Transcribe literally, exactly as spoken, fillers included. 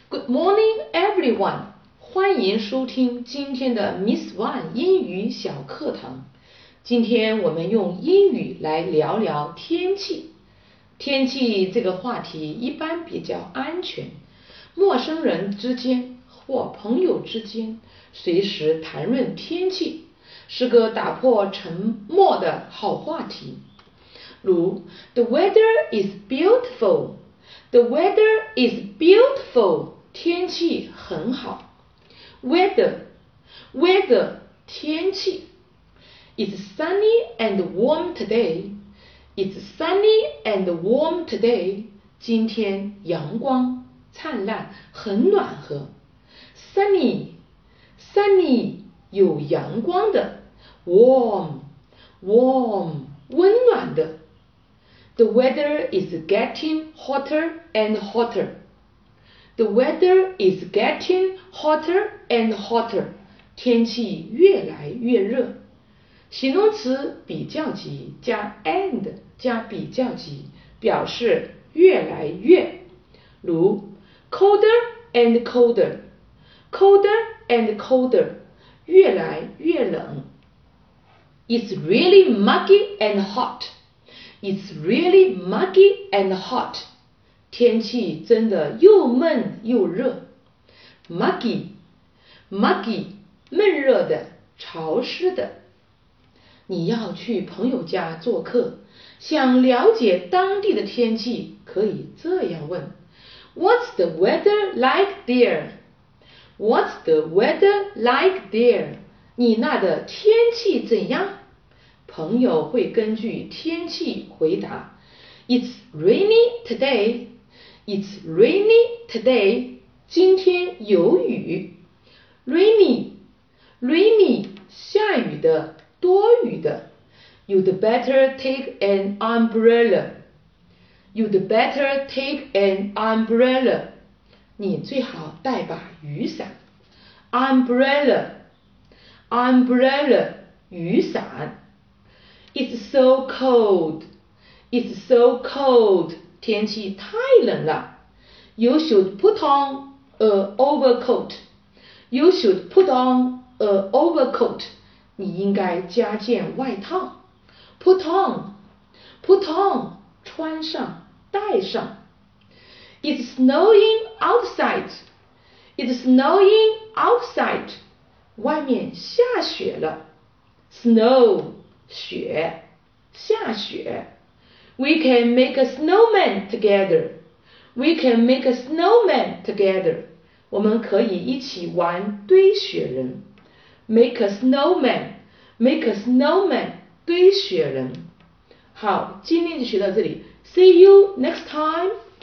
Good morning, everyone. 欢迎收听今天的 Miss One 英语小课堂。今天我们用英语来聊聊天气。天气这个话题一般比较安全，陌生人之间或朋友之间随时谈论天气，是个打破沉默的好话题。如 The weather is beautiful. The weather is beautiful. 天气很好。Weather, weather, 天气。It's sunny and warm today. It's sunny and warm today. 今天阳光灿烂，很暖和。Sunny, sunny, 有阳光的。Warm, warm, 温暖的。The weather is getting hotter and hotter. The weather is getting hotter and hotter. 天气越来越热。形容词比较级加 and 加比较级，表示越来越。如 colder and colder, colder and colder, 越来越冷。It's really muggy and hot. It's really muggy and hot. 天气真的又闷又热。Muggy, muggy, 闷热的，潮湿的。你要去朋友家做客，想了解当地的天气，可以这样问 What's the weather like there? What's the weather like there? 你那的天气怎样？朋友会根据天气回答 It's rainy today. It's rainy today. 今天有雨。Rainy, rainy, 下雨的，多雨的。You'd better take an umbrella. You'd better take an umbrella. 你最好带把雨伞。Umbrella, umbrella, 雨伞。It's so cold. It's so cold. 天气太冷了。You should put on a overcoat. You should put on a overcoat. 你应该加件外套。Put on, put on, 穿上，戴上。It's snowing outside. It's snowing outside. 外面下雪了。Snow, 雪，下雪。We can make a snowman together. We can make a snowman together. 我们可以一起玩堆雪人。Make a snowman. Make a snowman. 堆雪人。好，今天就学到这里。See you next time.